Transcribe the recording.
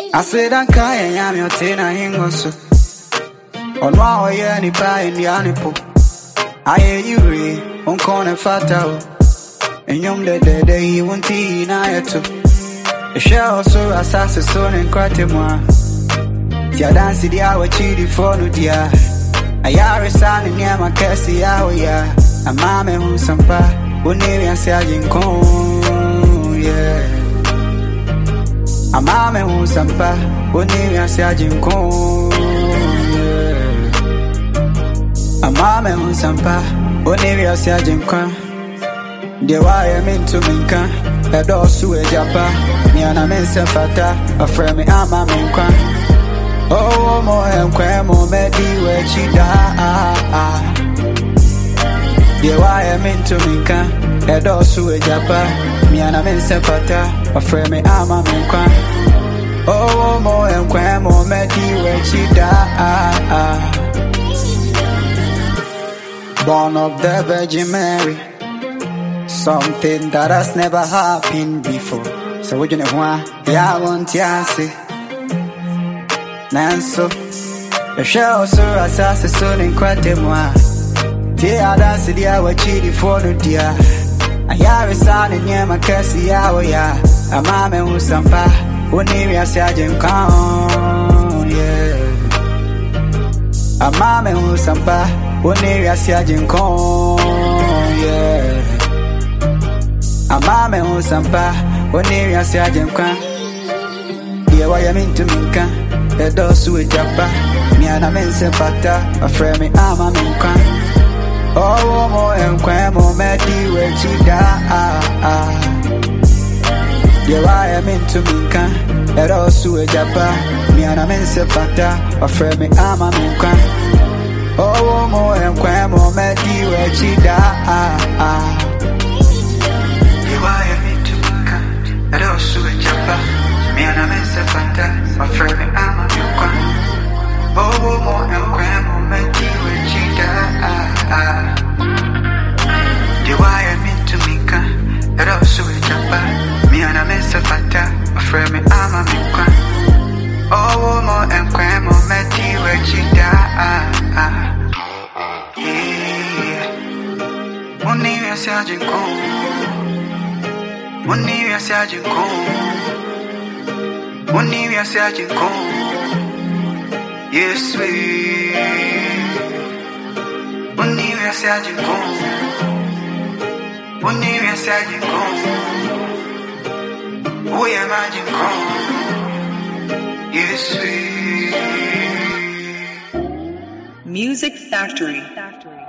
I said I can't yam your tina hingosu. On my way any pie in the anipo. I hear you re on corner fatao. And yum the day he won't tea in I too. The shell so assassin son and cratemwa. Tia dance the hour chidi for no dear. I yari son and near my cassie hour ya. A mamma who some pa, who name and sergeant con, yeah. A mama who sampa, who name ya sergeant con. A mama who sampa, who name ya sergeant con. The wire mean to minka, a dosu a japa, me and a mensa fata, a friend me ama minka. Oh, more and quamo, medi where she da. The wire mean to minka, a dosu a japa, me and a mensa fata. A friend me ama minka. Oh, more and quamo, medi where she da. Born of the Virgin Mary, something that has never happened before. So what you know why? Yeah, I want ya see. Nanso, the show so assassin soon in Quatemwa. Tia dance the hour chidi for the dear. I hear a son in Yama Cassie hour ya. A mamma who sampa, who name ya sergeant con, yeah. A mamma who sampa, who name ya sergeant con, yeah. A mamma who sampa, who name ya sergeant con. Yeah, why I mean to minka, a dosu a japa, me and a mensa fata, a friend me ama minka. Oh, more and quamo, medi where she da. Yeah, why I mean to minka, a dosu a japa, me and a mensa fata, a friend me ama minka. Oh, more and quamo, medi where she da. Yeah, why I mean to minka, a dosu a japa, me and a mensa fata, a friend me ama minka. Oh, more and quamo, medi where she da. The wire mean to minka, it also a jumper. Me and a mensa fata, a friend me ama minka. Oh, more and quamo, medi where she da. Yeah, money we are sergeant go. Money we are sergeant go. Money we are sergeant go. Yes, we. Money we are sergeant go. Money we are sergeant go. We are margin go. Yes, we. Music Factory.